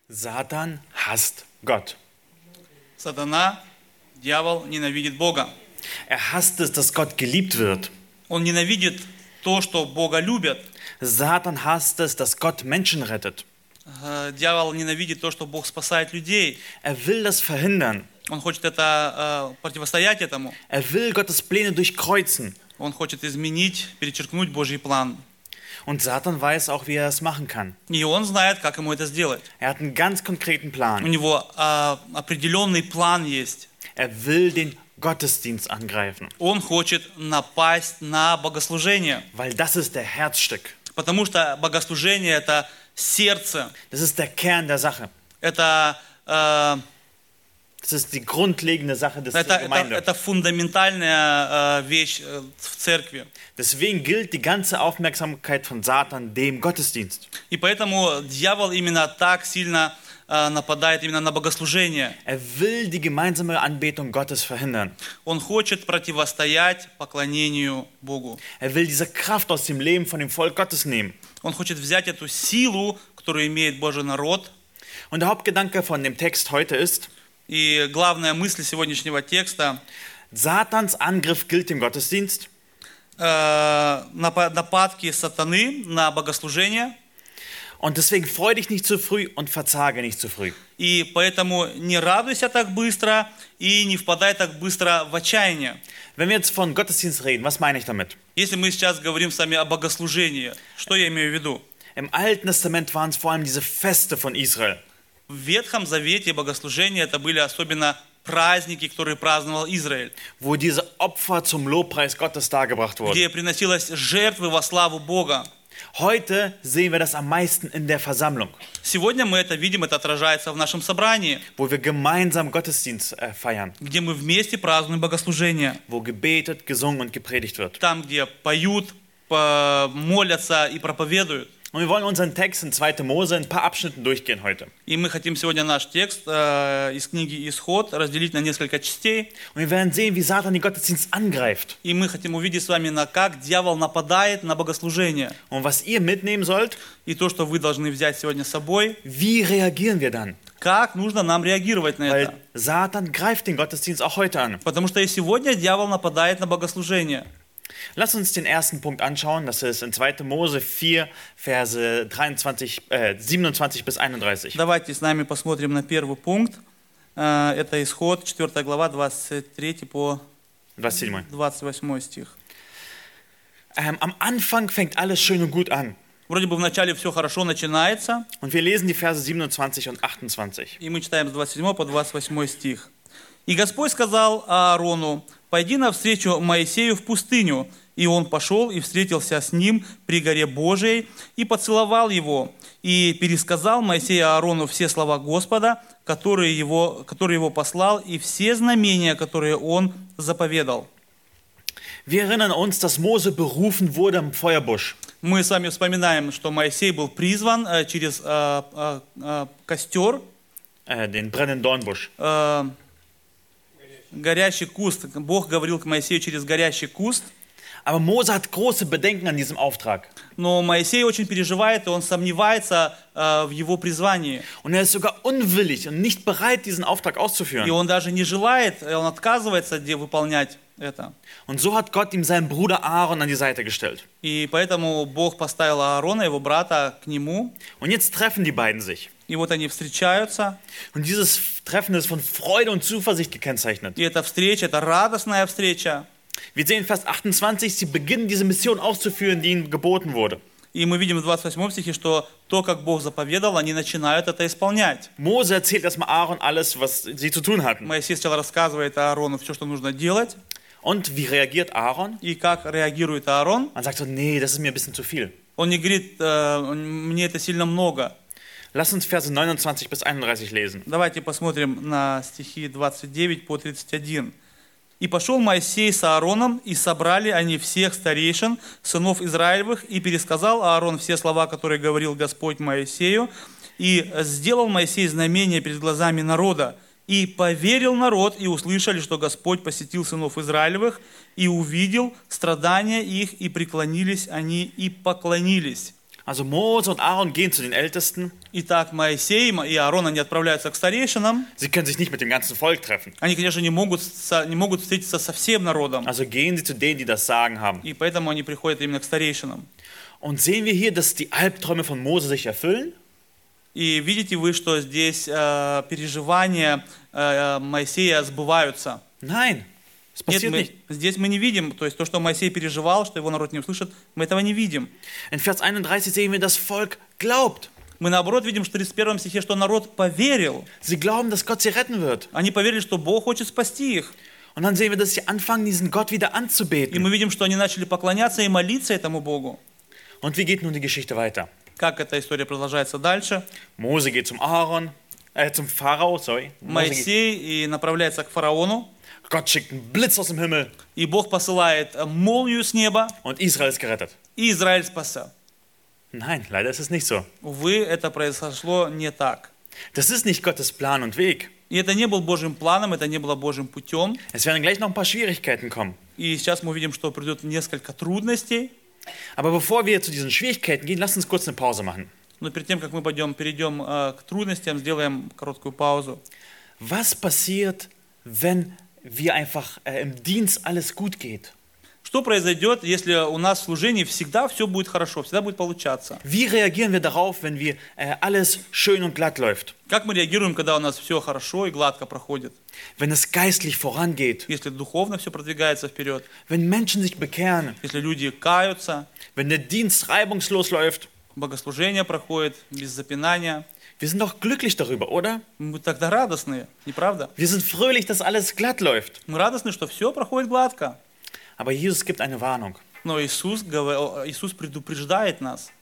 Satan hasst Gott. Сатана, дьявол, ненавидит Бога. Er hasst es, dass Gott geliebt wird. Он ненавидит то, что Бога любят. Satan hasst es, dass Gott Menschen rettet. Дьявол ненавидит то, что Бог спасает людей. Er will das verhindern. Он хочет противостоять этому. Er will Gottes Pläne durchkreuzen. Он хочет изменить, перечеркнуть Божий план. Und Satan weiß auch, wie er es machen kann. И он знает, как ему это сделать. Er hat einen ganz konkreten У Plan. него определенный план есть. Er will den Gottesdienst angreifen, Он хочет напасть на богослужение. weil das ist der Herzstück. Потому что богослужение – это сердце. Das ist der Kern der Sache. Это Das ist die grundlegende Sache der Gemeinde. это фундаментальная вещь в церкви. Deswegen gilt die ganze Aufmerksamkeit von Satan dem Gottesdienst. И поэтому дьявол именно так сильно нападает именно на богослужение. Er will die gemeinsame Anbetung Gottes verhindern. Он хочет противостоять поклонению Богу. Er will diese Kraft aus dem Leben von dem Volk Gottes nehmen. Он хочет взять эту силу, которую имеет Божий народ. Und der Hauptgedanke von dem Text heute ist, И главная мысль сегодняшнего текста Satans Angriff gilt dem Gottesdienst. Нападки сатаны на богослужение. Und deswegen freu dich nicht zu früh und verzage nicht zu früh. И поэтому не радуйся так быстро и не впадай так быстро в отчаяние. Wenn wir jetzt von Gottesdienst reden, was meine ich damit? Если мы сейчас говорим с вами о богослужении, что я имею в виду? Im Alten Testament waren es vor allem diese Feste von Israel. В Ветхом Завете богослужения это были особенно праздники, которые праздновал Израиль, Wo diese Opfer zum Lobpreis Gottes dargebracht wurden. где приносилась жертвы во славу Бога. Heute sehen wir das am meisten in der Versammlung, Сегодня мы это видим, это отражается в нашем собрании, wo wir gemeinsam Gottesdienst feiern, где мы вместе празднуем богослужение. wo gebetet, gesungen und gepredigt wird. Там, где поют, молятся и проповедуют. Und wir wollen unseren Text in 2. Mose in ein paar Abschnitten durchgehen heute. И мы хотим сегодня наш текст из книги «Исход» разделить на несколько частей. Und wir werden sehen, wie Satan den Gottesdienst angreift. И мы хотим увидеть с вами, как дьявол нападает на богослужение. Und was ihr mitnehmen sollt, И то, что вы должны взять сегодня с собой, wie reagieren wir dann? как нужно нам реагировать на Weil это. Satan greift den Gottesdienst auch heute an. Потому что и сегодня дьявол нападает на богослужение. Lass uns den ersten Punkt anschauen. Das ist in 2. Mose 4, Verse 27 bis 31. Давайте с нами посмотрим на первый пункт. Это Исход, 4 глава, 23 по 27. 28 стих. Am Anfang fängt alles schön und gut an. Вроде бы вначале все хорошо начинается, Und wir lesen die Verse 27 und 28. и мы читаем с 27 по 28 стих. «И Господь сказал Аарону: пойди навстречу Моисею в пустыню. И он пошел и встретился с ним при горе Божией, и поцеловал его, и пересказал Моисей Аарону все слова Господа, которые его послал, и все знамения, которые он заповедал». Wir erinnern uns, dass Mose berufen wurde am Feuerbusch. Мы с вами вспоминаем, что Моисей был призван через костер, Den brennenden Dornbusch. горящий куст. Бог говорил к Моисею через горящий куст. Aber Mose hat große Bedenken an diesem Auftrag. Но Моисей очень переживает, и он сомневается в его призвании. Und er ist sogar unwillig und nicht bereit, diesen Auftrag И auszuführen. он даже не желает, он отказывается выполнять это. Und so hat Gott ihm seinen Bruder Aaron an die Seite gestellt. И поэтому Бог поставил Аарона, его брата, к нему. Und jetzt treffen die beiden sich. И вот они встречаются. Und dieses Treffen ist von Freude und Zuversicht gekennzeichnet. И эта встреча, это радостная встреча. Wir sehen in Vers 28, sie beginnen diese Mission auszuführen, die ihnen geboten wurde. И мы видим в 28 стихе, что то, как Бог заповедал, они начинают это исполнять. Mose erzählt erstmal Aaron alles, was sie zu tun hatten. Моисей сначала рассказывает Аарону все, что нужно делать. Und wie reagiert Aaron? И как реагирует Аарон. Man sagt so, nee, das ist mir ein bisschen zu viel. Он не говорит, мне это сильно много. Lass uns Verse 29 bis 31 lesen. Давайте посмотрим на стихи 29 по 31. «И пошел Моисей с Аароном, и собрали они всех старейшин, сынов Израилевых, и пересказал Аарон все слова, которые говорил Господь Моисею, и сделал Моисей знамения перед глазами народа. И поверил народ, и услышали, что Господь посетил сынов Израилевых, и увидел страдания их, и преклонились они, и поклонились». Also Mose und Aaron gehen zu den Ältesten. Итак, Моисей и Аарон, они отправляются к старейшинам. Sie können sich nicht mit dem ganzen Volk treffen. Они, конечно, не могут встретиться со всем народом. Also gehen sie zu denen, die das Sagen haben. И поэтому они приходят именно к старейшинам. Und sehen wir hier, dass die Albträume von Mose sich erfüllen? И видите вы, что здесь переживания Моисея сбываются? Nein, es passiert nicht. Здесь мы не видим, то есть то, что Моисей переживал, что его народ не услышит, мы этого не видим. In Vers 31 sehen wir, das Volk glaubt. Мы наоборот видим в 31 стихе, что народ поверил. Sie glauben, dass Gott sie retten wird. Они поверили, что Бог хочет спасти их. Und dann sehen wir, dass sie anfangen, diesen Gott wieder И мы anzubeten. видим, что они начали поклоняться и молиться этому Богу. Und wie geht nun die Geschichte weiter? Как эта история продолжается дальше? Mose geht zum Pharao, Mose geht, Моисей и направляется к фараону, Gott schickt einen Blitz aus dem Himmel и Бог посылает молнию с неба, und Israel ist gerettet. и Израиль спасся. Nein, leider ist es nicht so. Увы, это произошло не так. Das ist nicht Gottes Plan und Weg. И это не был Божьим планом, это не было Божьим путем. Es werden gleich noch ein paar Schwierigkeiten kommen. И сейчас мы увидим, что придет несколько трудностей. Aber bevor wir zu diesen Schwierigkeiten gehen, lasst uns kurz eine Pause machen. Но перед тем, как мы перейдем к трудностям, сделаем короткую паузу. Was passiert, wenn wir einfach im Dienst alles gut geht? Что произойдет, если у нас в служении всегда все будет хорошо, всегда будет получаться? Wie reagieren wir darauf, wenn wir alles schön und glatt läuft? Как мы реагируем, когда у нас все хорошо и гладко проходит? Wenn es geistlich vorangeht? Если духовно все продвигается вперед? Wenn Menschen sich bekehren? Если люди каются? Wenn der Dienst reibungslos läuft? Богослужение проходит без запинания? Wir sind doch glücklich darüber, oder? Мы тогда радостные, не правда? Wir sind fröhlich, dass alles glatt läuft. Мы радостны, что все проходит гладко. Aber Jesus gibt eine Warnung. Но Иисус предупреждает нас.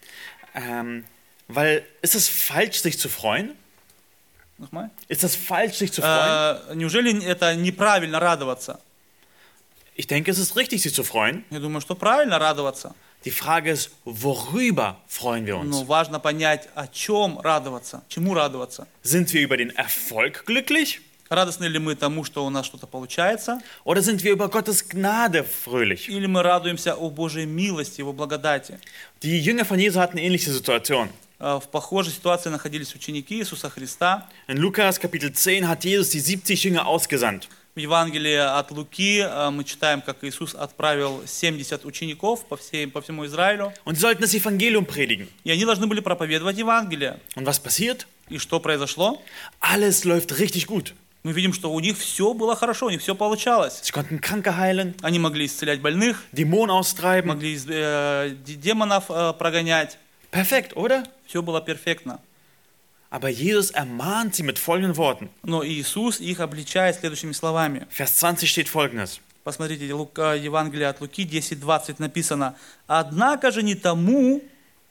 Weil, ist es falsch, sich zu freuen? Nochmal? Ist es falsch, sich zu freuen? Неужели это неправильно радоваться? Ich denke, es ist richtig, sich zu freuen. Я думаю, что правильно радоваться. Die Frage ist, worüber freuen wir Но uns? важно понять, о чем радоваться, чему радоваться. Sind wir über den Erfolg glücklich? Радостны ли мы тому, что у нас что-то получается? Oder sind wir über Gottes Gnade fröhlich? Или мы радуемся о Божьей милости, Его благодати? Die Jünger von Jesus hatten eine ähnliche Situation. В похожей ситуации находились ученики Иисуса Христа. In Lukas Kapitel 10 hat Jesus die 70 Jünger ausgesandt. В Евангелии от Луки мы читаем, как Иисус отправил 70 учеников по всему Израилю. Und sie sollten das Evangelium predigen. И они должны были проповедовать Евангелие. Und was passiert? И что произошло? Alles läuft richtig gut. Мы видим, что у них все было хорошо, у них все получалось. Sie konnten Kranke heilen, Они могли исцелять больных, Dämonen austreiben. могли демонов прогонять. Perfekt, oder? Все было перфектно. Aber Jesus ermahnt sie mit folgenden Worten. Но Иисус их обличает следующими словами. Vers 20 steht folgendes. Посмотрите, Евангелие от Луки 10:20 написано: Однако же тому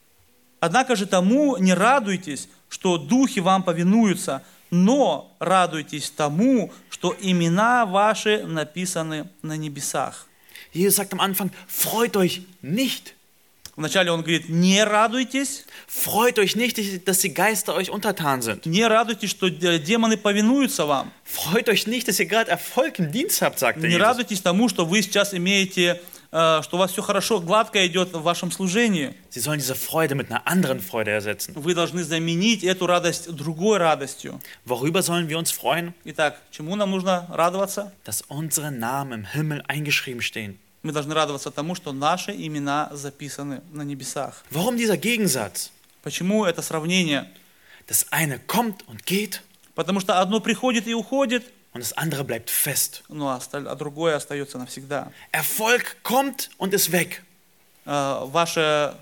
не радуйтесь, что духи вам повинуются, но радуйтесь тому, что имена ваши написаны на небесах. Jesus sagt am Anfang, freut euch nicht. Вначале он говорит: не радуйтесь. Freut euch nicht, dass die Geister euch untertan sind. Не радуйтесь, что демоны повинуются вам. Freut euch nicht, dass ihr gerade Erfolg im Dienst habt, sagt Не Jesus. радуйтесь тому, что вы сейчас имеете, что у вас все хорошо, гладко идет в вашем служении. Sie sollen diese Freude mit einer anderen Freude ersetzen. Вы должны заменить эту радость другой радостью. Worüber sollen wir uns freuen? Итак, чему нам нужно радоваться? Dass unsere Namen im Himmel eingeschrieben stehen. Мы должны радоваться тому, что наши имена записаны на небесах. Warum dieser Gegensatz? Почему это сравнение? Das eine kommt und geht Потому что одно приходит и уходит, und das andere bleibt fest. а другое остается навсегда. Erfolg kommt und ist weg. Ваше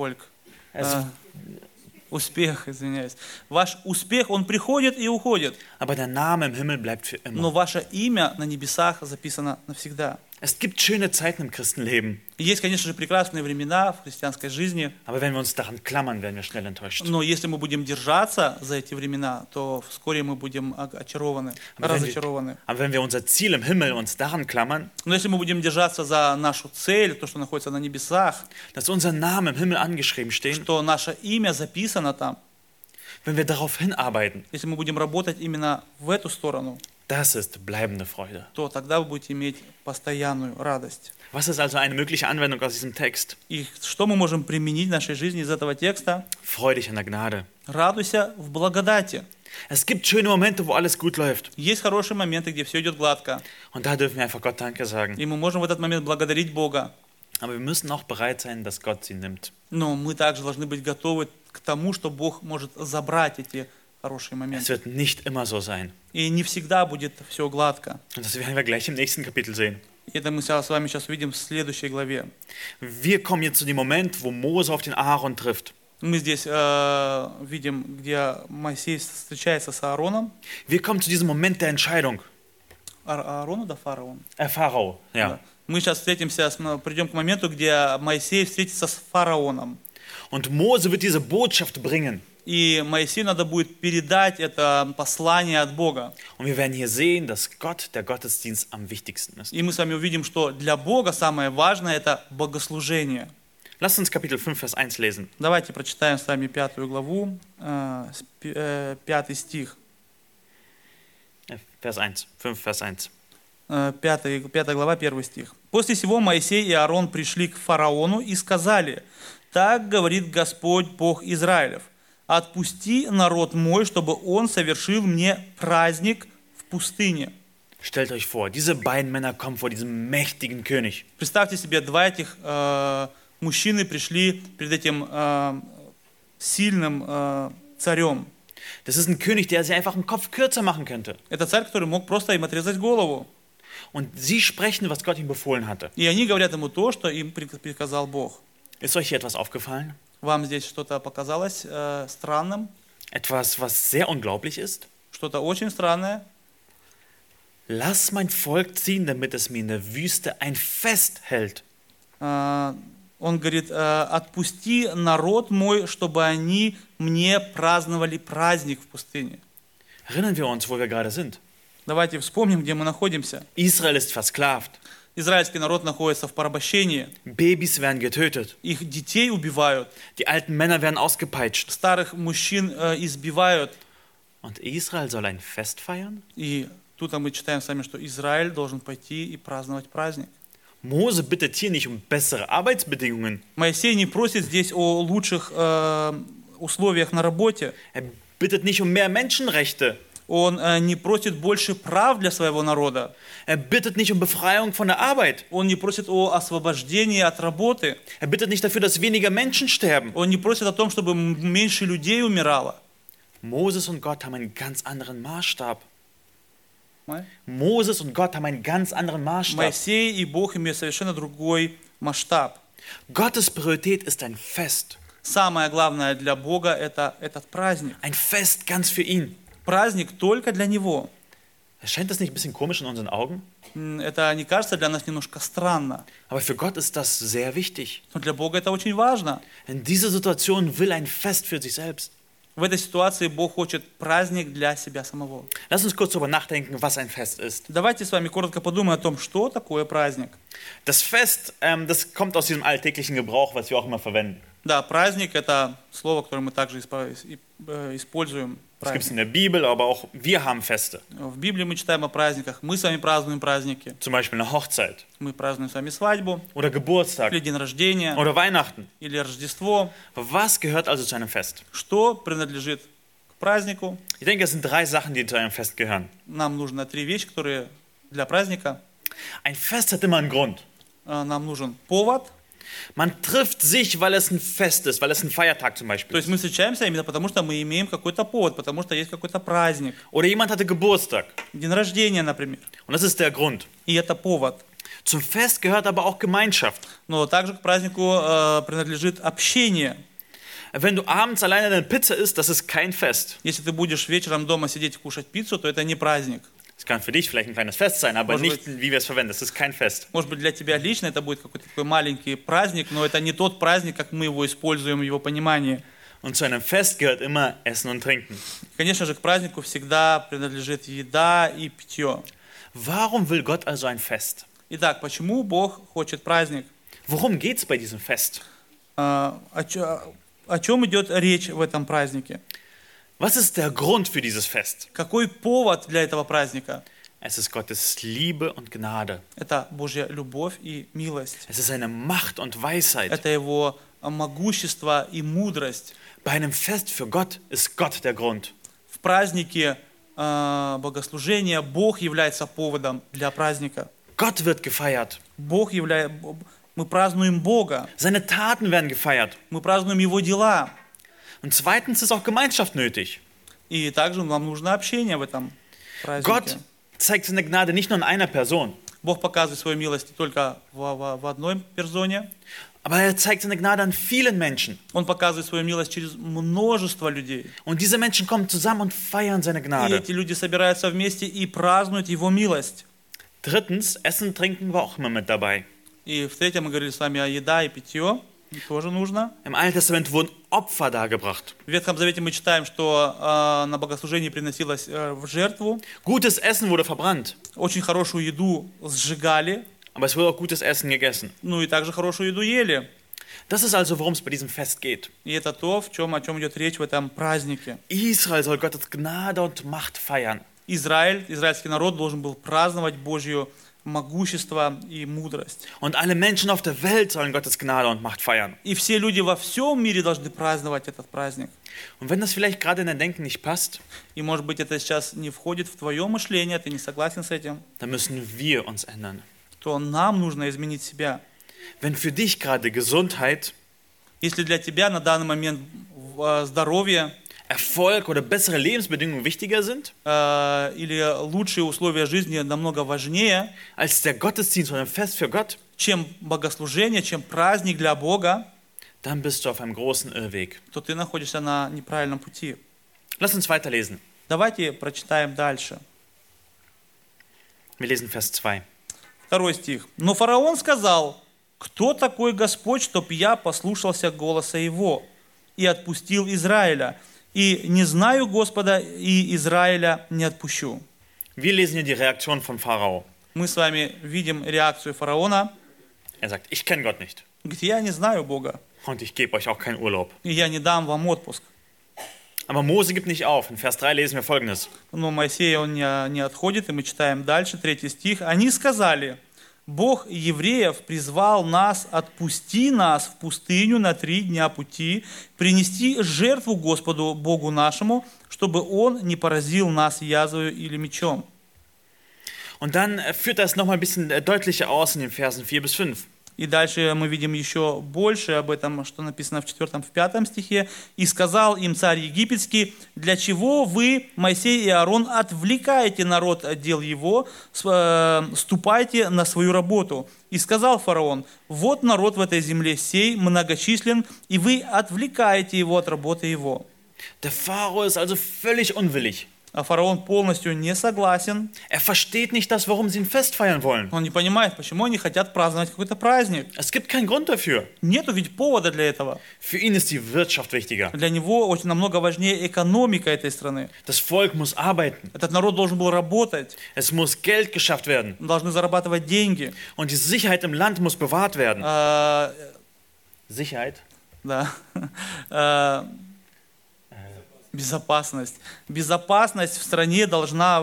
успех, извиняюсь. Ваш успех, он приходит и уходит. Aber der Name im Himmel bleibt für Но immer. ваше имя на небесах записано навсегда. Es gibt schöne Zeiten im Christenleben, И есть, конечно же, прекрасные времена в христианской жизни, aber wenn wir uns daran klammern, werden wir schnell enttäuscht. но если мы будем держаться за эти времена, то вскоре мы будем разочарованы. Aber wenn wir unser Ziel im Himmel uns daran klammern, Но если мы будем держаться за нашу цель, то, что находится на небесах, dass unser Name im Himmel angeschrieben steht, что наше имя записано там, wenn wir darauf hinarbeiten, если мы будем работать именно в эту сторону, Das ist bleibende Freude. то тогда вы будете иметь постоянную радость. Was ist also eine mögliche Anwendung aus diesem Text? И что мы можем применить в нашей жизни из этого текста? Freu dich an der Gnade. Радуйся в благодати. Es gibt schöne Momente, wo alles gut läuft. Есть хорошие моменты, где все идет гладко. Und da dürfen wir einfach Gott Danke sagen. И мы можем в этот момент благодарить Бога. Aber wir müssen auch bereit sein, dass Gott sie nimmt. Но мы также должны быть готовы к тому, что Бог может забрать эти хорошие Es моменты. wird nicht immer so sein. И не всегда будет все гладко. Und das werden wir gleich im nächsten Kapitel sehen. И это мы с вами сейчас увидим в следующей главе. Wir kommen jetzt zu dem Moment, wo Mose auf den Aaron trifft. Мы здесь видим, где Моисей встречается с Аароном. Wir kommen zu diesem Moment der Entscheidung. Аарону, да, фараон? Pharao, ja. Да. Мы сейчас придем к моменту, где Моисей встретится с фараоном. Und Mose wird diese Botschaft bringen. И Моисею надо будет передать это послание от Бога. Und wir werden hier sehen, dass Gott der Gottesdienst am wichtigsten ist. И мы с вами увидим, что для Бога самое важное – это богослужение. Lasst uns Kapitel 5, Vers 1 lesen. Давайте прочитаем с вами 5 главу, 5 стих. Vers 1, 5, Vers 1. 5 глава, 1 стих. «После сего Моисей и Аарон пришли к фараону и сказали: так говорит Господь Бог Израилев, отпусти народ мой, чтобы он совершил мне праздник в пустыне». Stellt euch vor, diese beiden Männer kommen vor diesem mächtigen König. Представьте себе, два этих мужчины пришли перед этим сильным царем. Das ist ein König, der sich einfach einen Kopf kürzer machen könnte. Это царь, который мог просто им отрезать голову. Und sie sprechen, was Gott ihm befohlen hatte. И они говорят ему то, что им приказал Бог. Ist euch hier etwas aufgefallen? Вам здесь что-то показалось странным? Etwas, was sehr unglaublich ist? Что-то очень странное? Lass mein Volk ziehen, damit es mir in der Wüste ein Fest hält. Он говорит: отпусти народ мой, чтобы они мне праздновали праздник в пустыне. Erinnern wir uns, wo wir gerade sind. Давайте вспомним, где мы находимся. Israel ist versklavt. Израильский народ находится в порабощении. Babys werden getötet. Их детей убивают. Die alten Männer werden ausgepeitscht. Старых мужчин избивают. Und Israel soll ein Fest feiern? И тут мы читаем с вами, что Израиль должен пойти и праздновать праздник. Mose bittet hier nicht um bessere Arbeitsbedingungen. Моисей не просит здесь о лучших условиях на работе. Er bittet nicht um mehr Menschenrechte. Он не просит больше прав для своего народа. Er bittet nicht um Befreiung von der Arbeit. Он не просит о освобождении от работы. Er bittet nicht dafür, dass weniger Menschen sterben. Он не просит о том, чтобы меньше людей умирало. Moses und Gott haben einen ganz anderen Maßstab. Moses und Gott haben einen ganz anderen Maßstab. Моисей и Бог имеют совершенно другой масштаб. Gottes Priorität ist ein Fest. Самое главное для Бога – это этот праздник. Ein Fest ganz für ihn. Праздник только для Него. Erscheint das nicht ein bisschen komisch in unseren Augen? Это не кажется для нас немножко странно. Aber für Gott ist das sehr wichtig. Но для Бога это очень важно. In dieser Situation will ein Fest für sich selbst. В этой ситуации Бог хочет праздник для себя самого. Lass uns kurz darüber nachdenken, was ein Fest ist. Давайте с вами коротко подумаем о том, что такое праздник. Das Fest, das kommt aus diesem alltäglichen Gebrauch, was wir auch immer verwenden. Да, праздник – это слово, которое мы также используем. Das gibt es in der Bibel, aber auch wir haben Feste. В Библии мы читаем о праздниках. Мы с вами празднуем праздники. Zum Beispiel eine Hochzeit. Мы празднуем с вами свадьбу, Oder Geburtstag. или день рождения, Oder Weihnachten. или Рождество. Was gehört also zu einem Fest? Что принадлежит к празднику? Ich denke, es sind 3 Sachen, die zu einem Fest gehören. Нам нужно 3 вещи, которые для праздника. Ein Fest hat immer einen Grund. Нам нужен повод. Man trifft sich, weil es ein Fest ist, weil es ein Feiertag zum То Beispiel есть ist. мы встречаемся именно потому, что мы имеем какой-то повод, потому что есть какой-то праздник. Oder jemand hatte Geburtstag. День рождения, например. Und das ist der Grund. И это повод. Zum Fest gehört aber auch Gemeinschaft. Но также к празднику принадлежит общение. Wenn du abends alleine eine Pizza isst, das ist kein Fest. Если ты будешь вечером дома сидеть и кушать пиццу, то это не праздник. Es kann für dich vielleicht ein kleines Fest sein, aber Может nicht, wie wir es verwenden. Das ist kein Fest. Может быть, для тебя лично это будет какой-то такой маленький праздник, но это не тот праздник, как мы его используем в его понимании. Und zu einem Fest gehört immer Essen und Trinken. Конечно же, к празднику всегда принадлежит еда и питье. Warum will Gott also ein Fest? Итак, почему Бог хочет праздник? Worum geht es bei diesem Fest? О чем идет речь в этом празднике? Was ist der Grund für dieses Fest? Какой повод для этого праздника? Es ist Gottes Liebe und Gnade. Это Божья любовь и милость. Es ist seine Macht und Weisheit. Это Его могущество и мудрость. Bei einem Fest für Gott ist Gott der Grund. В празднике богослужения Бог является поводом для праздника. Gott wird gefeiert. Мы празднуем Бога. Seine Taten werden gefeiert. Мы празднуем Его дела. Und zweitens ist auch Gemeinschaft nötig. И также нам нужно общение в этом празднике. Gott zeigt seine Gnade nicht nur in einer Person, Бог показывает свою милость не только в одной персоне. aber er zeigt seine Gnade an vielen Menschen. Он показывает свою милость через множество людей. Und diese Menschen kommen zusammen und feiern seine И Gnade. эти люди собираются вместе и празднуют Его милость. Drittens, Essen, Trinken war auch immer mit dabei. И в-третьих, мы говорили с вами о еда и питье. Тоже нужно. Im Alten Testament wurden Opfer dargebracht. В Ветхом Завете мы читаем, что на богослужении приносилось в жертву. Gutes Essen wurde verbrannt, Очень хорошую еду сжигали. aber es wurde auch gutes Essen gegessen. Ну и также хорошую еду ели. Das ist also, worum es bei diesem Fest geht. И это то, о чем идет речь в этом празднике. Israel soll Gottes Gnade und Macht feiern. Израильский народ должен был праздновать Божье могущество и мудрость. Und alle Menschen auf der Welt sollen Gottes Gnade und Macht feiern. И все люди во всем мире должны праздновать этот праздник. Und wenn das vielleicht gerade in dein Denken nicht passt, И может быть это сейчас не входит в твое мышление, ты не согласен с этим, dann müssen wir uns ändern. то нам нужно изменить себя. Wenn für dich gerade Gesundheit, Если для тебя на данный момент здоровье Erfolg oder bessere Lebensbedingungen wichtiger sind или лучшие условия жизни намного важнее, als der Gottesdienst oder ein Fest für Gott, чем богослужение, чем праздник для Бога, dann bist du auf einem großen Irrweg. то ты находишься на неправильном пути. Lass uns weiterlesen. Давайте прочитаем дальше. Wir lesen Vers 2. 2 стих. «Но фараон сказал: кто такой Господь, чтоб я послушался голоса его и отпустил Израиля? И не знаю Господа, и Израиля не отпущу». Wir lesen hier die Reaktion von Pharao. Мы с вами видим реакцию фараона. Er sagt, ich kenne Gott nicht Он говорит: я не знаю Бога, und ich gebe euch auch keinen Urlaub. и я не дам вам отпуск. Aber Mose gibt nicht auf. In Vers 3 lesen wir Folgendes. Но Моисей, он не отходит, и мы читаем дальше, 3 стих. «Они сказали: Бог евреев призвал нас, отпусти нас в пустыню на 3 дня пути, принести жертву Господу Богу нашему, чтобы Он не поразил нас язвою или мечом». Und dann führt das nochmal ein bisschen deutlicher aus in den Versen 4 bis 5. И дальше мы видим еще больше об этом, что написано в 4 в 5 стихе. «И сказал им царь египетский: для чего вы, Моисей и Аарон, отвлекаете народ от дел его, ступайте на свою работу. И сказал фараон: вот народ в этой земле сей многочислен, и вы отвлекаете его от работы его». Der Pharao ist also völlig unwillig. А фараон полностью не согласен. Er versteht nicht das, warum sie ein Fest feiern wollen. Он не понимает, почему они хотят праздновать какой-то праздник. Es gibt keinen Grund dafür. Нету ведь повода для этого. Für ihn ist die Wirtschaft wichtiger. Для него очень намного важнее экономика этой страны. Das Volk muss arbeiten. Этот народ должен был работать. Es muss Geld geschafft werden. Должны зарабатывать деньги. Und die Sicherheit im Land muss bewahrt werden. Sicherheit? Да. Безопасность. Безопасность в стране должна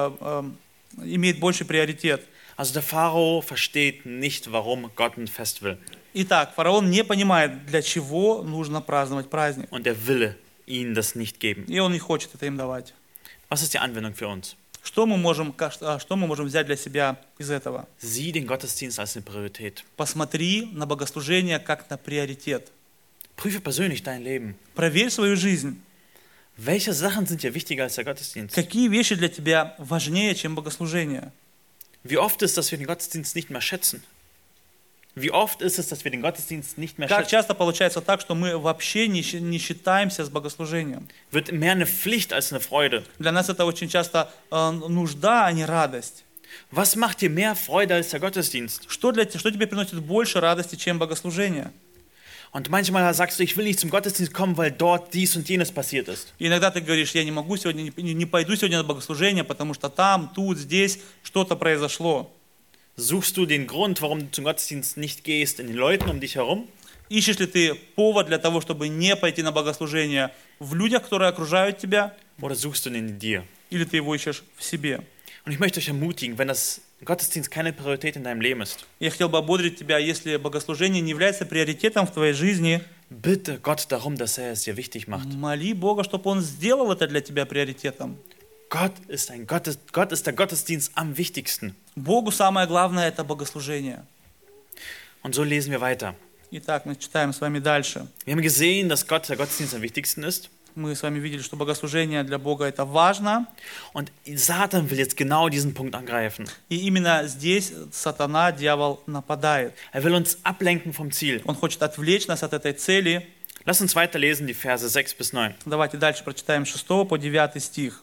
иметь больший приоритет. Also der Pharao versteht nicht, warum Gott ein Fest will. Итак, фараон не понимает, для чего нужно праздновать праздник. Und er will ihnen das nicht geben. И он не хочет это им давать. Was ist die Anwendung für uns? Что мы можем взять для себя из этого? Sieh den Gottesdienst als eine Priorität. Посмотри на богослужение как на приоритет. Prüfe persönlich dein Leben. Проверь свою жизнь. Welche Sachen sind dir wichtiger als der Gottesdienst? Какие вещи для тебя важнее, чем богослужение? Wie oft ist, dass wir den Gottesdienst nicht mehr schätzen? Wie oft ist es, dass wir den Gottesdienst nicht mehr Как schätzen? часто получается так, что мы вообще не считаемся с богослужением? Wird mehr eine Pflicht als eine Freude. Для нас это очень часто нужда, а не радость. Was macht dir mehr Freude als der Gottesdienst? Что тебе приносит больше радости, чем богослужение? Und manchmal sagst du, ich will nicht zum Gottesdienst kommen, weil dort dies und jenes passiert ist. И иногда ты говоришь: я не могу сегодня, не пойду сегодня на богослужение, потому что там, тут, здесь что-то произошло. Suchst du den Grund, warum du zum Gottesdienst nicht gehst, in den Leuten um dich herum? Ищешь ли ты повод для того, чтобы не пойти на богослужение в людях, которые окружают тебя, Oder suchst du ihn in dir? или ты его ищешь в себе? Und ich möchte euch ermutigen, wenn das Gottesdienst keine Priorität in deinem Leben ist, Я хотел бы ободрить тебя, если богослужение не является приоритетом в твоей жизни, bitte Gott darum, dass er es dir wichtig macht. моли Бога, чтобы Он сделал это для тебя приоритетом. Gott ist der Gottesdienst am wichtigsten. Богу самое главное – это богослужение. Und so lesen wir weiter. Итак, мы читаем с вами дальше. Wir haben gesehen, dass Gott der Gottesdienst am wichtigsten ist. Мы с вами видели, что богослужение для Бога – это важно. Und Satan will jetzt genau diesen Punkt angreifen. И именно здесь сатана, дьявол, нападает. Er will uns ablenken vom Ziel. Он хочет отвлечь нас от этой цели. Lass uns weiterlesen, die Verse 6 bis 9. Давайте дальше прочитаем 6 по 9 стих.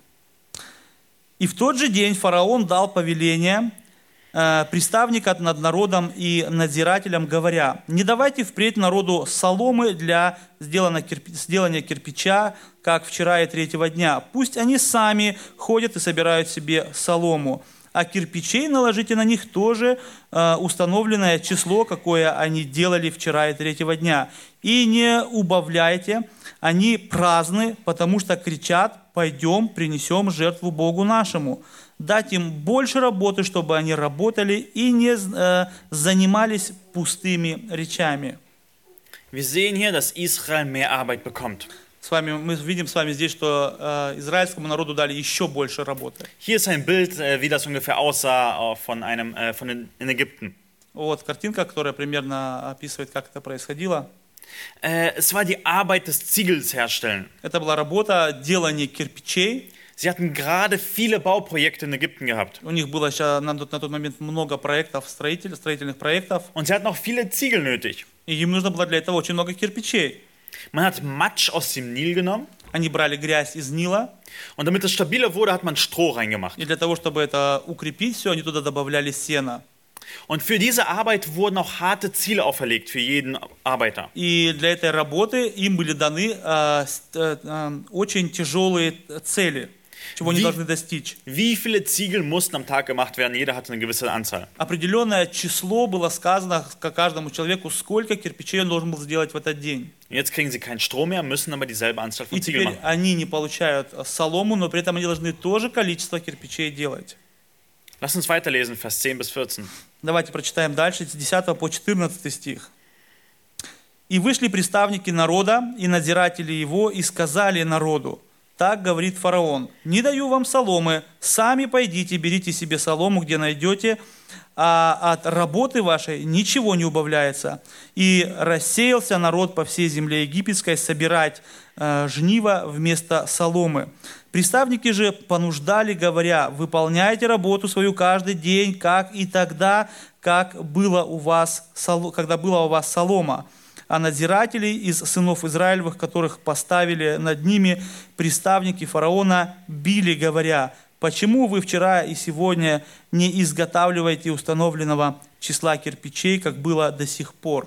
«И в тот же день фараон дал повеление приставника над народом и надзирателям, говоря: не давайте впредь народу соломы для сделания кирпича, как вчера и третьего дня. Пусть они сами ходят и собирают себе солому. А кирпичей наложите на них тоже установленное число, какое они делали вчера и третьего дня. И не убавляйте, они праздны, потому что кричат: пойдем, принесем жертву Богу нашему. Дать им больше работы, чтобы они работали и не занимались пустыми речами». Wir sehen hier, dass Israel mehr Arbeit bekommt. Мы видим с вами здесь, что израильскому народу дали еще больше работы. Hier ist ein Bild, wie das ungefähr aussah in Ägypten. Вот картинка, которая примерно описывает, как это происходило. Es war die Arbeit des Ziegels herstellen. Это была работа делания кирпичей. Sie hatten gerade viele Bauprojekte in Ägypten gehabt. У них было на тот момент много проектов, строительных проектов. Und sie hatten auch viele Ziegel nötig. И им нужно было для этого очень много кирпичей. Man hat Matsch aus dem Nil genommen. Они брали грязь из Нила. Und damit es stabiler wurde, hat man Stroh reingemacht. И для того, чтобы это укрепить все, они туда добавляли сено. Und für diese Arbeit wurden auch harte Ziele auferlegt für jeden Arbeiter. И для этой работы им были даны очень тяжелые цели, чего они должны достичь. Wie viele Ziegel mussten am Tag gemacht werden? Jeder hatte eine gewisse Anzahl. Определенное число было сказано каждому человеку, сколько кирпичей он должен был сделать в этот день. Jetzt kriegen sie keinen Strom mehr, müssen aber dieselbe Anzahl von И Ziegeln теперь machen. они не получают солому, но при этом они должны то же количество кирпичей делать. Lass uns weiterlesen, Vers 10 bis 14. Давайте прочитаем дальше, с 10 по 14 стих. «И вышли представники народа и надзиратели его, и сказали народу: так говорит фараон: не даю вам соломы, сами пойдите, берите себе солому, где найдете, а от работы вашей ничего не убавляется. И рассеялся народ по всей земле египетской собирать жнива вместо соломы. Приставники же понуждали, говоря: выполняйте работу свою каждый день, как и тогда, когда была у вас солома. А надзирателей из сынов Израилевых, которых поставили над ними приставники фараона, били, говоря: почему вы вчера и сегодня не изготавливаете установленного числа кирпичей, как было до сих пор?»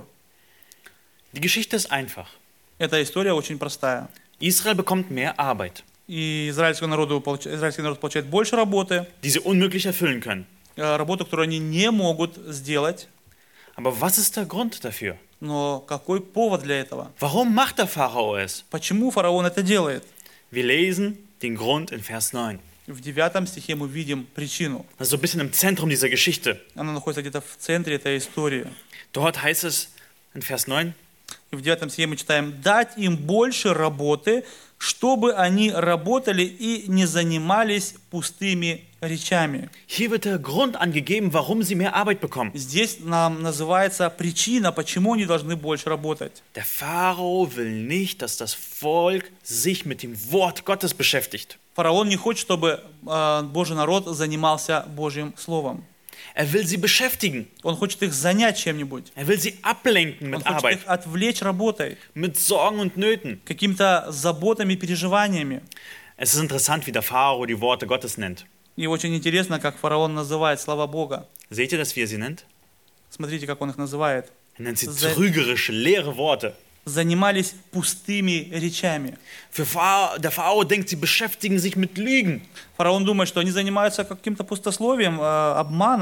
Die Geschichte ist einfach. Эта история очень простая. Israel bekommt mehr Arbeit, И израильский народ получает больше работы, die sie unmöglich erfüllen können. работу, которую они не могут сделать. Aber was ist der Grund dafür? Но какой повод для этого? Warum macht der Pharao es? Почему фараон это делает? Wir lesen den Grund in Vers 9. В 9 стихе мы видим причину. Das ist so ein bisschen im Zentrum dieser Geschichte. Она находится где-то в центре этой истории. Dort heißt es in Vers 9, И в 9 стихе мы читаем: «Дать им больше работы, чтобы они работали и не занимались пустыми речами». hier wird der Grund angegeben, warum sie mehr Arbeit bekommen. Здесь нам называется причина, почему они должны больше работать. Der Pharao will nicht, dass das Volk sich mit dem Wort Gottes beschäftigt. Фараон не хочет, чтобы Божий народ занимался Божьим Словом. Er will sie beschäftigen. Он хочет их занять чем-нибудь. Er will sie ablenken Он mit хочет Arbeit, их отвлечь работой, mit Sorgen und Nöten. какими-то заботами, переживаниями. Es ist interessant, wie der Pharao die Worte Gottes nennt. И очень интересно, как фараон называет слова Бога. Seht ihr das, wie er sie nennt? Смотрите, как он их называет. Er nennt sie trügerische, leere Worte. Занимались пустыми речами. Der Pharao denkt, sie beschäftigen sich mit Lügen. Фараон думает, что они занимаются каким-то пустословием, обманом.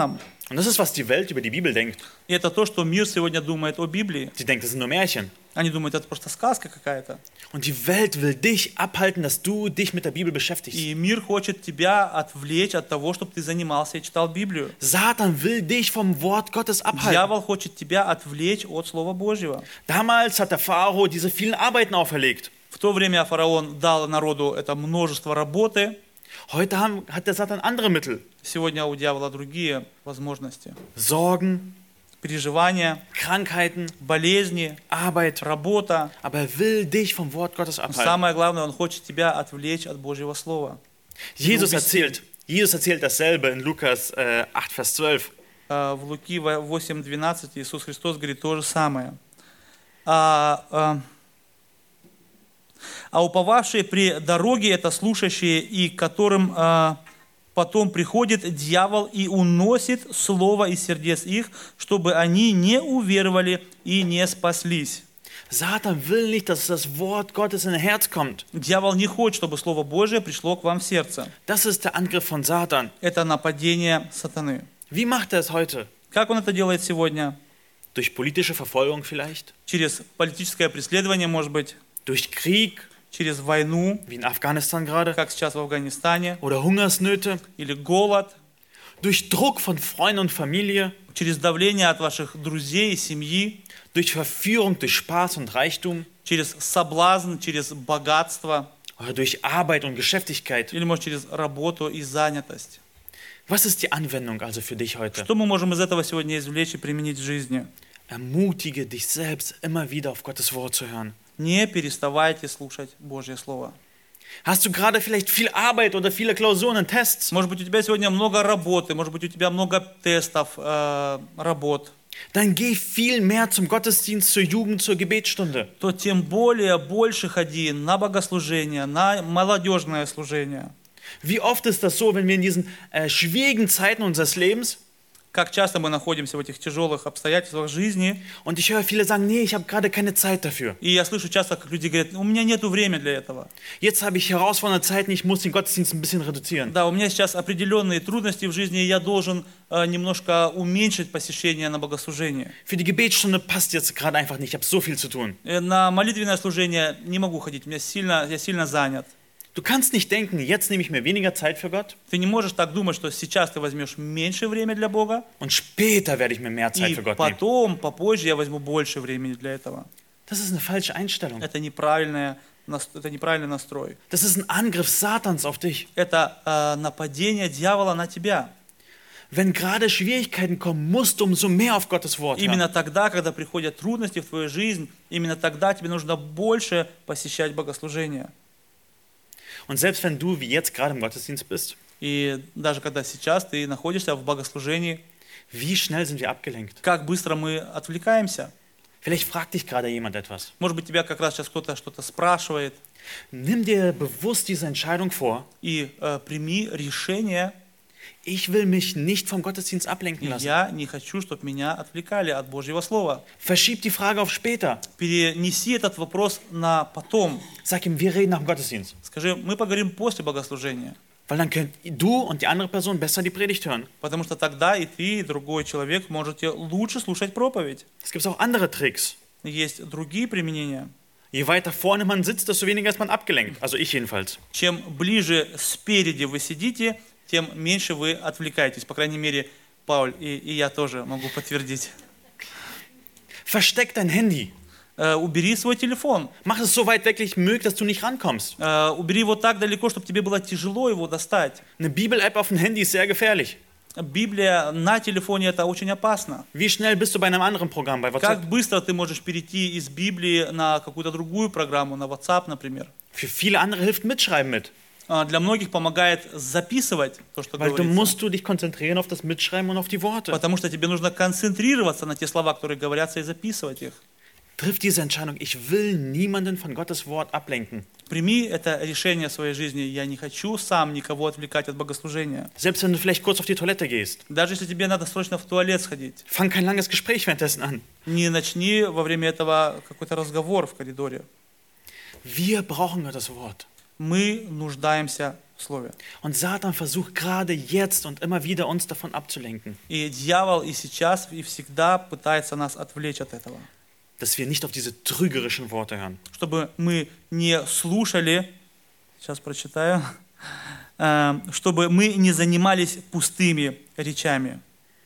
Und das ist, was die Welt über die Bibel denkt. И это то, что мир сегодня думает о Библии. Sie denkt, das sind nur Märchen. Они думают, это просто сказка какая-то. Und die Welt will dich abhalten, dass du dich mit der Bibel beschäftigst. И мир хочет тебя отвлечь от того, чтобы ты занимался и читал Библию. Satan will dich vom Wort Gottes abhalten. Дьявол хочет тебя отвлечь от Слова Божьего. Damals hat der Pharao diese vielen Arbeiten auferlegt. В то время фараон дал народу это множество работы. Heute hat der Satan andere Mittel. Сегодня у дьявола другие возможности. Sorgen, Переживания, Krankheiten, болезни, Arbeit. работа. Aber er will dich vom Wort Gottes Но abhalten. самое главное, он хочет тебя отвлечь от Божьего Слова. Jesus erzählt dasselbe in Lukas 8, Vers 12. В Луки 8:12 Иисус Христос говорит то же самое. А уповавшие при дороге это слушающие, и к которым потом приходит дьявол и уносит слово из сердец их, чтобы они не уверовали и не спаслись. Satan will nicht, dass das Wort Gottes in dein Herz kommt. Дьявол не хочет, чтобы Слово Божие пришло к вам в сердце. Das ist der Angriff von Satan. Это нападение сатаны. Wie macht er es heute? Как он это делает сегодня? Durch politische Verfolgung vielleicht? Через политическое преследование, может быть, Durch Krieg, через войну, wie in Afghanistan gerade? как сейчас в Афганистане, Oder Hungersnöte? или голод, Durch Druck von Freunden und Familie? через давление от ваших друзей и семьи, Durch Verführung, durch Spaß und Reichtum? через соблазн, через богатство, Oder durch Arbeit und Geschäftigkeit? или, может, через работу и занятость. Was ist die Anwendung also für dich heute? Что мы можем из этого сегодня извлечь и применить в жизни? Ermutige dich selbst, immer wieder auf Gottes Wort zu hören. Не переставайте слушать Божье Слово. Hast du gerade vielleicht viel Arbeit oder viele Klausuren und Tests? Может быть, у тебя сегодня много работы, может быть, у тебя много тестов, работ. Dann geh viel mehr zum Gottesdienst, zur Jugend, zur Gebetsstunde. То тем более больше ходи на богослужение, на молодежное служение. Wie oft ist das so, wenn wir in diesen schwierigen Zeiten unseres Lebens, Как часто мы находимся в этих тяжелых обстоятельствах жизни, und ich höre viele sagen, nee, ich habe gerade keine Zeit dafür. и я слышу часто, как люди говорят, у меня нет времени для этого. Jetzt habe ich herausfordernde Zeiten, ich muss den Gottesdienst ein bisschen reduzieren. Да, у меня сейчас определенные трудности в жизни, и я должен немножко уменьшить посещение на богослужение. Für die Gebetsstunde passt jetzt gerade einfach nicht, ich habe so viel zu tun. На молитвенное служение не могу ходить, я сильно занят. Du kannst nicht denken, jetzt nehme ich mir weniger Zeit für Gott Ты не можешь так думать, что сейчас ты возьмешь меньше времени для Бога, und später werde ich mir mehr Zeit и für Gott nehmen. потом, попозже я возьму больше времени для этого. Das ist eine falsche Einstellung. Это неправильный настрой. Das ist ein Angriff Satans auf dich. Это нападение дьявола на тебя. Wenn gerade Schwierigkeiten kommen, musst du umso mehr auf Gottes Wort hören. Именно тогда, когда приходят трудности в твою жизнь, именно тогда тебе нужно больше посещать богослужение. Und selbst wenn du wie jetzt gerade im Gottesdienst bist, И даже когда сейчас ты находишься в богослужении, wie schnell sind wir abgelenkt? как быстро мы отвлекаемся. Vielleicht fragt dich gerade jemand etwas. Может быть, тебя как раз сейчас кто-то что-то спрашивает. Nimm dir bewusst diese Entscheidung vor. И прими решение. Ich will mich nicht vom Gottesdienst ablenken lassen. Я не хочу, чтобы меня отвлекали от Божьего Слова. Verschieb die Frage auf später. Перенеси этот вопрос на потом. Sag ihm, wir reden nach dem Gottesdienst. Скажи, мы поговорим после богослужения. Weil dann könnt du und die andere Person besser die Predigt hören. Потому что тогда и ты, и другой человек можете лучше слушать проповедь. Es gibt auch andere Tricks. Есть другие применения. Je weiter vorne man sitzt, desto weniger ist man abgelenkt. Also ich jedenfalls. Чем ближе спереди вы сидите, тем меньше вы отвлекаетесь. По крайней мере, Пауль и я тоже могу подтвердить. Versteck dein Handy. Убери свой телефон. Mach es so weit weg wie möglich, dass du nicht rankommst. Убери его так далеко, чтобы тебе было тяжело его достать. Eine Bibel-App auf dem Handy ist sehr gefährlich. Библия на телефоне это очень опасно. Wie schnell bist du bei einem anderen Programm, bei WhatsApp? Как быстро ты можешь перейти из Библии на какую-то другую программу, на WhatsApp, например. Für viele andere hilft Mitschreiben mit. Для многих помогает записывать то, что Weil du говорится. musst du dich konzentrieren auf das Mitschreiben und auf die Worte. Потому что тебе нужно концентрироваться на те слова, которые говорятся, и записывать их. Triff diese Entscheidung. Ich will niemanden von Gottes Wort ablenken. Прими это решение в своей жизни. Я не хочу сам никого отвлекать от богослужения. Selbst wenn du vielleicht kurz auf die Toilette gehst. Даже если тебе надо срочно в туалет сходить. Fang kein langes Gespräch währenddessen an. Не начни во время этого какой-то разговор в коридоре. Wir brauchen Gottes Wort. Мы нуждаемся в Слове. Und Satan versucht gerade jetzt und immer wieder uns davon abzulenken, И дьявол и сейчас, и всегда пытается нас отвлечь от этого. dass wir nicht auf diese trügerischen Worte hören. Чтобы мы не слушали, сейчас прочитаю, чтобы мы не занимались пустыми речами.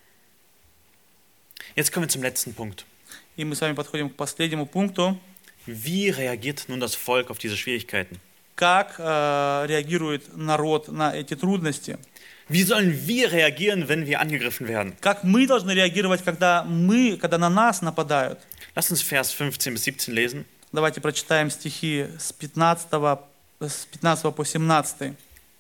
Jetzt kommen wir zum letzten Punkt. И мы с вами подходим к последнему пункту. Wie reagiert nun das Volk auf diese Schwierigkeiten? Как реагирует народ на эти трудности? Wie sollen wir reagieren, wenn wir angegriffen werden? Как мы должны реагировать, когда на нас нападают? Lass uns Vers 15 bis 17 lesen. Давайте прочитаем стихи с 15 по 17.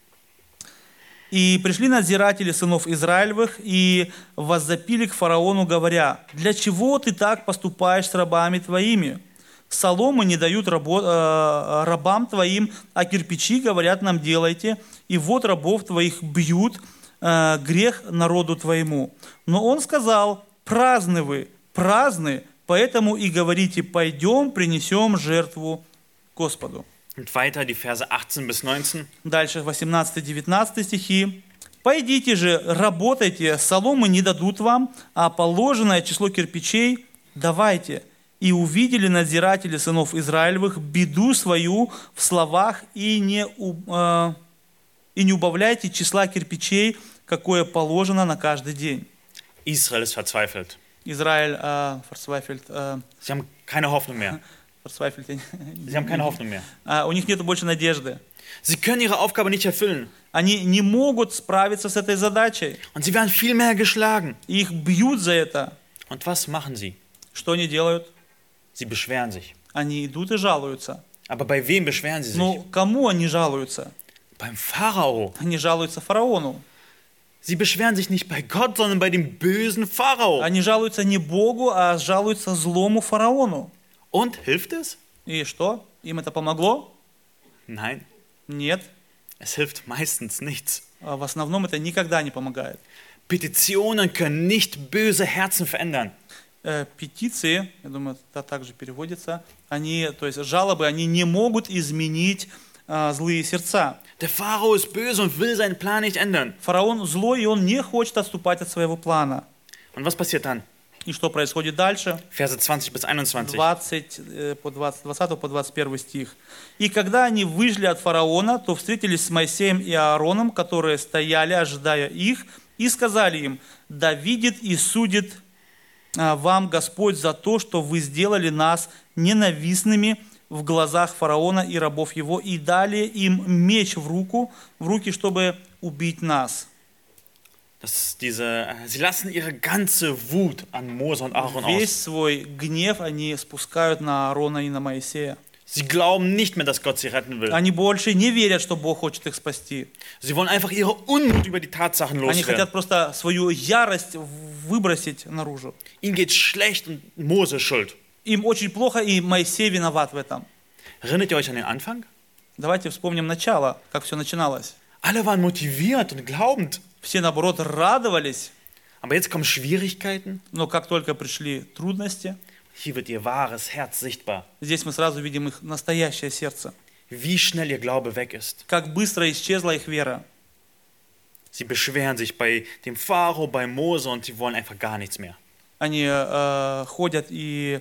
«И пришли надзиратели сынов Израилевых и воззапили к фараону, говоря: для чего ты так поступаешь с рабами твоими? Соломы не дают рабам твоим, а кирпичи, говорят, нам делайте, и вот рабов твоих бьют, грех народу твоему. Но он сказал: праздны вы, праздны, поэтому и говорите: пойдем, принесем жертву Господу». Und weiter die Verse 18 bis 19. Дальше 18-19 стихи. «Пойдите же, работайте, соломы не дадут вам, а положенное число кирпичей давайте». И увидели надзиратели сынов Израилевых беду свою в словах, и не убавляйте числа кирпичей, какое положено на каждый день. Israel ist verzweifelt. Израиль, Sie haben keine Hoffnung mehr. Sie haben keine Hoffnung mehr. У них нет больше надежды. Sie können ihre Aufgabe nicht erfüllen. Они не могут справиться с этой задачей. Und sie werden viel mehr geschlagen. Их бьют за это. Und was machen sie? Что они делают? Sie beschweren sich. Они идут и жалуются. Aber bei wem beschweren sie sich? Но кому они жалуются? Beim Pharao. Они жалуются фараону. Sie beschweren sich nicht bei Gott, sondern bei dem bösen Pharao. Они жалуются не Богу, а жалуются злому фараону. Und hilft es? И что? Им это помогло? Nein, Нет. es hilft meistens nichts. В основном это никогда не помогает. Petitionen können nicht böse Herzen verändern. Петиции, я думаю, это также переводится, то есть жалобы, они не могут изменить злые сердца. Der Pharao ist böse und will seinen Plan nicht ändern. Фараон злой, и он не хочет отступать от своего плана. Und was passiert dann? И что происходит дальше? Verse 20 bis 21. 20 по 21 стих. «И когда они вышли от фараона, то встретились с Моисеем и Аароном, которые стояли, ожидая их, и сказали им: да видит и судит вам Господь за то, что вы сделали нас ненавистными в глазах фараона и рабов его, и дали им меч в руки, чтобы убить нас». Sie lassen ihre ganze Wut an Mose und Aaron Весь aus. свой гнев они спускают на Аарона и на Моисея. Sie glauben nicht mehr, dass Gott sie retten will. Они больше не верят, что Бог хочет их спасти. Sie wollen einfach ihre Unmut über die Tatsachen Они хотят loswerden. просто свою ярость выбросить наружу. Ihnen geht's schlecht und Mose ist schuld. Им очень плохо, и Моисей виноват в этом. Erinnert ihr euch an den Anfang? Давайте вспомним начало, как все начиналось. Alle waren motiviert und glaubend. Все, наоборот, радовались, Aber jetzt kommen Schwierigkeiten. но как только пришли трудности, Hier wird ihr wahres Herz sichtbar. здесь мы сразу видим их настоящее сердце. Wie schnell ihr Glaube weg ist. Как быстро исчезла их вера. Sie beschweren sich bei dem Pharao, bei Mose und sie wollen einfach gar nichts mehr. Они ходят и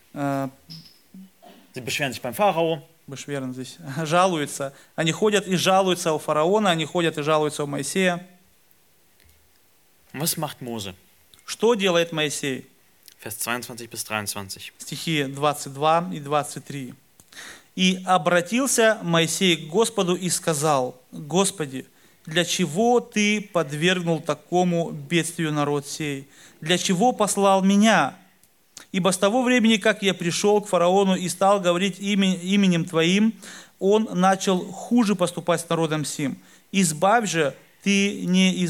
Sie beschweren sich beim Pharao, Бешверн здесь жалуются. Они ходят и жалуются у фараона, они ходят и жалуются у Моисея. Und was macht Mose? Что делает Моисей? Vers 22 bis 23. Стихи 22 и 23. «И обратился Моисей к Господу и сказал: Господи, для чего Ты подвергнул такому бедствию народ сей? Для чего послал меня? Ибо с того времени, как я пришел к фараону и стал говорить именем Твоим, он начал хуже поступать с народом сим. Избавить же Ты не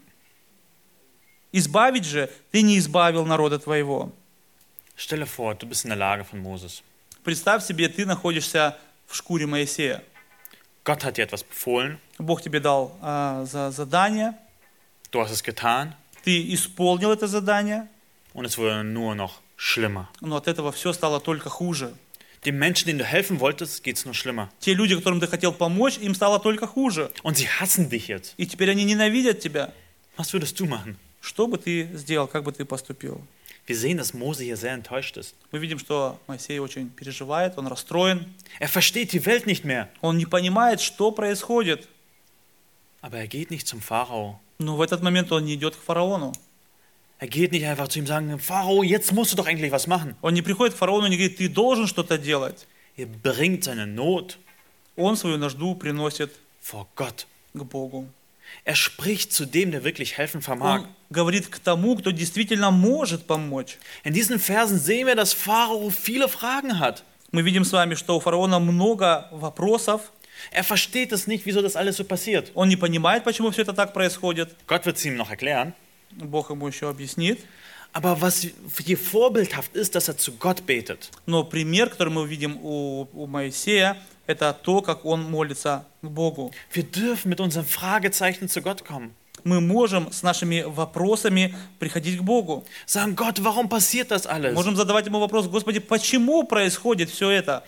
избавил народа Твоего». Stelle vor, du bist in der Lage von Moses. Представь себе, ты находишься в шкуре Моисея. Gott hat dir etwas befohlen, Бог тебе дал задание, du hast es getan ты исполнил это задание, und es wurde nur noch schlimmer. но от этого все стало только хуже. Dem Menschen, denen du helfen wolltest, geht's nur schlimmer. Те люди, которым ты хотел помочь, им стало только хуже. Und sie hassen dich jetzt. И теперь они ненавидят тебя. Was würdest du machen? Что бы ты сделал, как бы ты поступил? Wir sehen, dass Mose hier sehr enttäuscht ist. Мы видим, что Моисей очень переживает, он расстроен. Er versteht die Welt nicht mehr. Он не понимает, что происходит. Aber er geht nicht zum Pharao. Но в этот момент он не идет к фараону. Er geht nicht einfach zu ihm sagen, Pharao, jetzt musst du doch endlich was machen. Он не приходит к фараону и не говорит, ты должен что-то делать. Er bringt seine Not Он свою нужду приносит vor Gott. к Богу. Er spricht zu dem, der wirklich helfen vermag. Он говорит к тому, кто действительно может помочь. In diesen Versen sehen wir, dass Pharao viele Fragen hat. Мы видим с вами, что у фараона много вопросов. Er versteht es nicht, wieso das alles so passiert. Он не понимает, почему все это так происходит. Gott wird es ihm noch erklären. Бог ему еще объяснит. Aber was hier vorbildhaft ist, dass er zu Gott betet. Но пример, который мы видим у Моисея, это то, как он молится к Богу. Wir dürfen mit unseren Fragezeichen zu Gott kommen. Мы можем с нашими вопросами приходить к Богу. Sagen, Gott, warum passiert das alles? Можем задавать ему вопрос, Господи, почему происходит все это?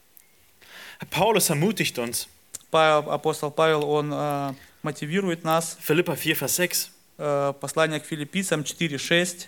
Paulus ermutigt uns. Апостол Павел, он мотивирует нас. Philipper 4, Vers 6. Послание к филиппийцам 4:6.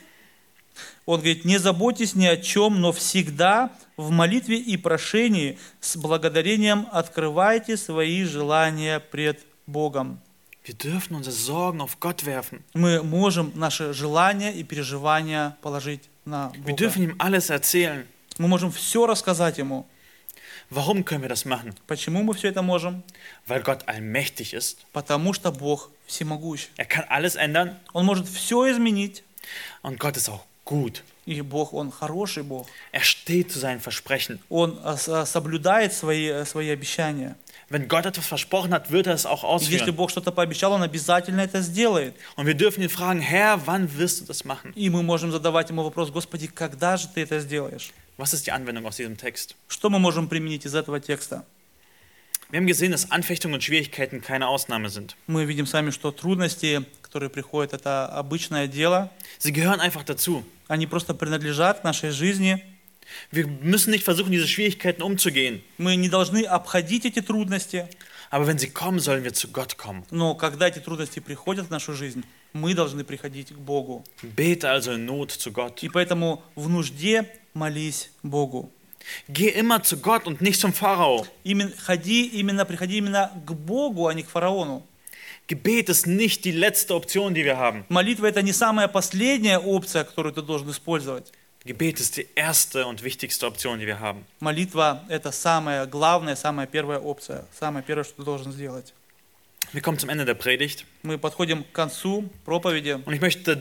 Он говорит, не заботьтесь ни о чем, но всегда в молитве и прошении с благодарением открывайте свои желания пред Богом. Wir dürfen unsere Sorgen auf Gott werfen. Мы можем наши желания и переживания положить на Wir Бога. dürfen ihm alles erzählen. Мы можем все рассказать Ему. Warum können wir das machen? Почему мы все это можем? Weil Gott allmächtig ist. Потому что Бог всемогущ. Er kann alles ändern Он может все изменить. und Gott ist auch gut. И Бог, Он хороший Бог. Er steht zu seinen Versprechen. Он соблюдает свои обещания. Wenn Gott etwas versprochen hat, wird er es auch И если ausführen. Бог что-то пообещал, Он обязательно это сделает. Und wir dürfen ihn fragen, Herr, wann wirst du das machen? И мы можем задавать Ему вопрос, Господи, когда же Ты это сделаешь? Was ist die Anwendung aus diesem Text? Что мы можем применить из этого текста? Wir haben gesehen, dass Anfechtungen und Schwierigkeiten keine Ausnahme sind. Мы видим сами, что трудности, которые приходят, это обычное дело. Sie gehören einfach dazu. Они просто принадлежат к нашей жизни. Wir müssen nicht versuchen, diese Schwierigkeiten umzugehen. Мы не должны обходить эти трудности. Aber wenn sie kommen, sollen wir zu Gott kommen. Но когда эти трудности приходят в нашу жизнь, мы должны приходить к Богу. Bete also in Not zu Gott. И поэтому в нужде молись Богу. Geh immer zu Gott und nicht zum Pharao. Приходи именно к Богу, а не к фараону. Gebet ist nicht die letzte Option, die wir haben. Молитва – это не самая последняя опция, которую ты должен использовать. Gebet ist die erste und wichtigste Option, die wir haben. Молитва – это самая главная, самая первая опция, самое первое, что ты должен сделать. Wir kommen zum Ende der Predigt Мы подходим к концу проповеди. und ich möchte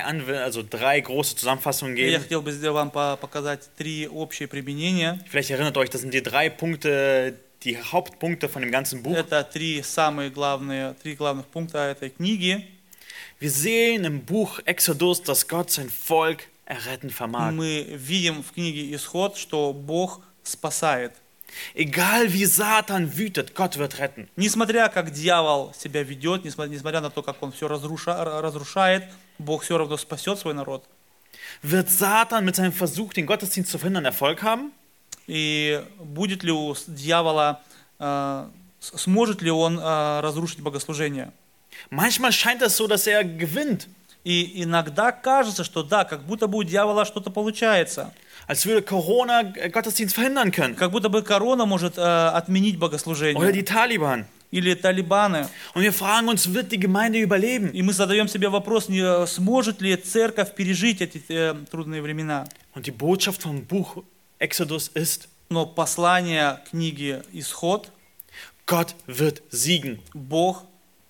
drei große Zusammenfassungen И я geben. хотел бы вам показать 3 общие применения. Vielleicht erinnert euch, das sind die 3 Punkte, die Hauptpunkte von dem ganzen Buch. Это 3 главных пункта этой книги. Wir sehen im Buch Exodus, dass Gott sein Volk erretten vermag. Мы видим в книге Исход, что Бог спасает. Egal wie Satan wütet, Gott wird retten. Несмотря как дьявол себя ведет, несмотря на то, как он все разрушает, Бог все равно спасет свой народ. Wird Satan mit seinem Versuch, den Gottesdienst zu verhindern, Erfolg haben? И будет ли у дьявола, сможет ли он разрушить богослужение? Manchmal scheint es so, dass er gewinnt. И иногда кажется, что да, как будто бы у дьявола что-то получается. Als würde Corona Gottesdienst verhindern können. Как будто бы корона может отменить Oder богослужение. die Taliban. Или талибаны. Und wir fragen uns, wird die Gemeinde überleben? И мы задаем себе вопрос, сможет ли церковь пережить эти трудные времена. Und die Botschaft vom Buch Exodus ist, Но послание книги Исход, Gott wird siegen. Бог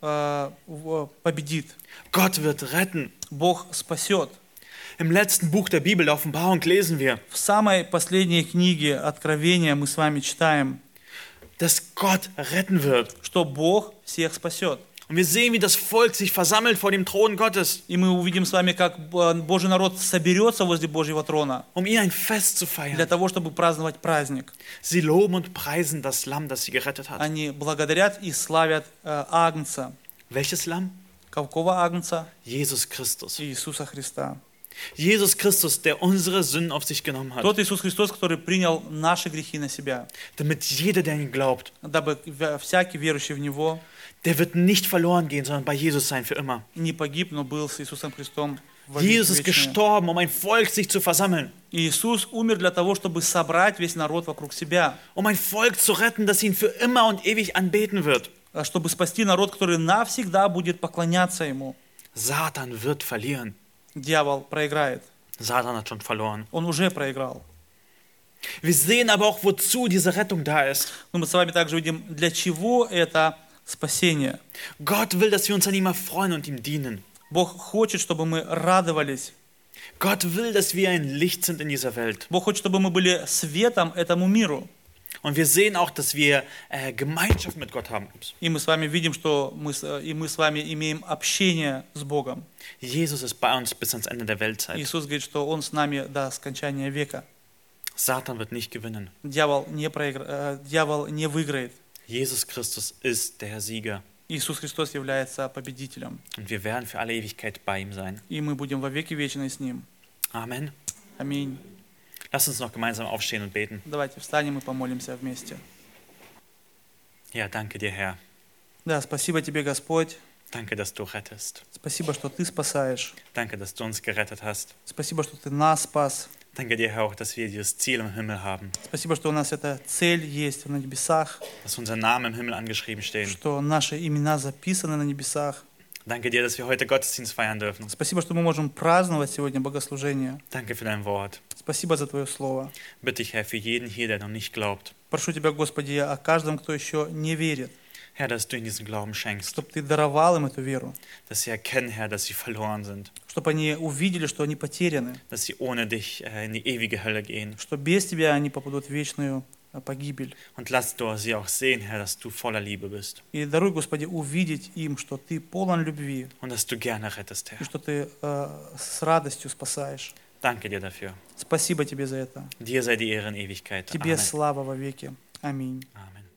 победит. Gott wird retten. Bог спасет. Im letzten Buch der Bibel, der Offenbarung, lesen wir, В самой последней книге Откровения мы с вами читаем, dass Gott retten wird. что Бог всех спасет. Und wir sehen, wie das Volk sich versammelt vor dem Thron Gottes, И мы увидим с вами, как Божий народ соберется возле Божьего трона um ihn ein Fest zu для feiern. того, чтобы праздновать праздник. Sie loben und preisen das Lamm, das sie gerettet hat. Они благодарят и славят Агнца. Welches Lamm? Какого Агнца? Jesus Christus. Иисуса Христа. Jesus Christus, der unsere Sünden auf sich genommen hat, Тот Иисус Христос, который принял наши грехи на себя, damit jeder, der an ihn glaubt, дабы всякий верующий в Него der wird nicht verloren gehen, sondern bei Jesus sein für immer. не погиб, но был с Иисусом Христом во Jesus ist веки вечные. gestorben, um ein Volk sich zu versammeln, Иисус умер для того, чтобы собрать весь народ вокруг себя, um ein Volk zu retten, das ihn für immer und ewig anbeten wird. чтобы спасти народ, который навсегда будет поклоняться Ему. Satan wird verlieren. Дьявол проиграет. Satan hat schon verloren. Он уже проиграл. Wir sehen aber auch, wozu diese Rettung da ist. Но мы с вами также видим, для чего это спасение. Gott will, dass wir uns an ihm erfreuen und ihm dienen. Бог хочет, чтобы мы радовались. Gott will, dass wir ein Licht sind in dieser Welt. Бог хочет, чтобы мы были светом этому миру. Und wir sehen auch, dass wir Gemeinschaft mit Gott haben. И мы с вами видим, что мы с вами имеем общение с Богом. Jesus ist bei uns bis ans Ende der Weltzeit. Иисус говорит, что Он с нами до скончания века. Satan wird nicht gewinnen. Дьявол не выиграет. Jesus Christus ist der Sieger. Иисус Христос является победителем. Und wir werden für alle Ewigkeit bei ihm sein. И мы будем во веки вечные с Ним. Amen. Аминь. Lass uns noch gemeinsam aufstehen und beten. Давайте встанем и помолимся вместе. Ja, danke dir, Herr. Да, спасибо Тебе, Господь. Danke, dass du rettest. Спасибо, что Ты спасаешь. Danke, dass du uns gerettet hast. Спасибо, что Ты нас спас. Danke dir, Herr, auch, dass wir dieses Ziel im Himmel haben. Спасибо, что у нас эта цель есть на небесах, Dass unser Name im Himmel angeschrieben stehen. что наши имена записаны на небесах. Danke dir, dass wir heute Gottesdienst feiern dürfen. Спасибо, что мы можем праздновать сегодня богослужение. Danke für dein Wort. Спасибо за Твое Слово. Bitte ich, Herr, für jeden hier, der noch nicht glaubt, Прошу Тебя, Господи, о каждом, кто еще не верит, Herr, dass du ihnen diesen Glauben schenkst. чтобы Ты даровал им эту веру, Dass sie erkennen, Herr, dass sie verloren sind. чтобы они увидели, что они потеряны, Dass sie ohne dich in die ewige Hölle gehen. что без Тебя они попадут в вечную погибель. Und lass du sie auch sehen, Herr, dass du voller Liebe bist. И даруй, Господи, увидеть им, что Ты полон любви, Und dass du gerne rettest, и Herr. что Ты с радостью спасаешь. Danke dir dafür. Спасибо Тебе за это. Dir sei die Ehre in Ewigkeit. Тебе Amen. слава во веки. Аминь. Amen.